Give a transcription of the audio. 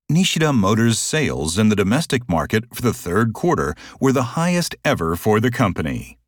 Nishida Motors sales in the domestic market for the third quarter were the highest ever for the company.